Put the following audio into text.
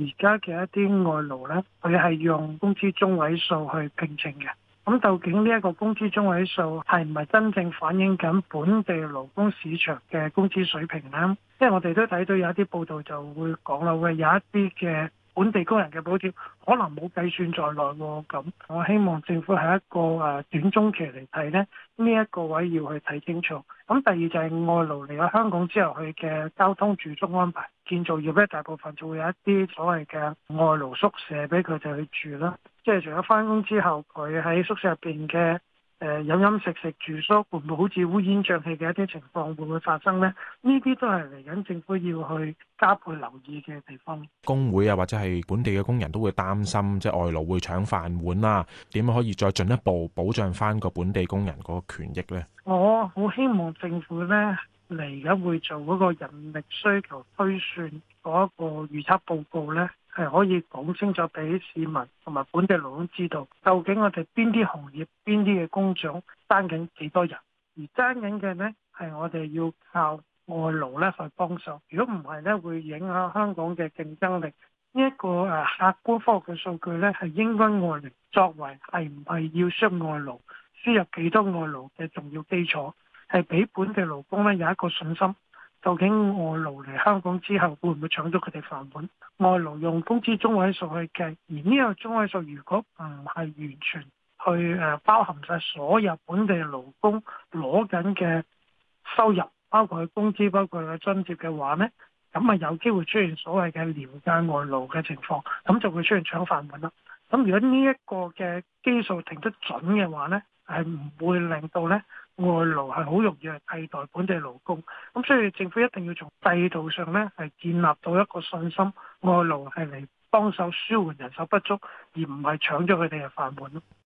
而家嘅一啲外勞呢，佢係用工資中位數去聘請嘅。咁究竟呢一個工資中位數係唔係真正反映緊本地勞工市場嘅工資水平呢？因為我哋都睇到有一啲報道就會講啦，會有一啲嘅本地工人嘅補貼可能冇計算在內喎。咁我希望政府係一個短中期嚟睇呢，呢一個位要去睇清楚。咁第二就係外勞嚟咗香港之後，佢嘅交通住宿安排，建造業咧大部分就會有一啲所謂嘅外勞宿舍俾佢哋去住啦。即係除咗返工之後，佢喺宿舍入邊嘅飲食住宿，會唔會好似烏煙瘴氣嘅一啲情況會唔會發生呢？呢啲都係嚟緊政府要去加倍留意嘅地方。 工會啊，或者係本地嘅工人都會擔心，即係外勞會搶飯碗啦。點樣可以再進一步保障翻個本地工人嗰個權益呢？ 我好希望政府呢嚟緊會做嗰個人力需求推算嗰一個預測報告呢，係可以講清楚俾市民同埋本地勞工知道，究竟我哋邊啲行業、邊啲嘅工種爭緊幾多人，而爭緊嘅呢係我哋要靠外勞呢去幫手。如果唔係呢，會影響香港嘅競爭力。呢一個客觀科學嘅數據呢，係應該外勞作為係唔係要輸入外勞、輸入幾多外勞嘅重要基礎，係俾本地勞工呢有一個信心。究竟外勞嚟香港之後會唔會搶咗佢哋飯碗？外勞用工資中位數去計，而呢個中位數如果唔係完全去包含晒所有本地勞工攞緊嘅收入，包括佢工資、包括佢津貼嘅話呢，咁啊有機會出現所謂嘅廉價外勞嘅情況，咁就會出現搶飯碗啦。咁如果呢一個嘅基數停得準嘅話呢，係唔會令到呢外勞係好容易去替代本地勞工。咁所以政府一定要從制度上呢係建立到一個信心，外勞係嚟幫手舒緩人手不足，而唔係搶咗佢哋嘅飯碗咯。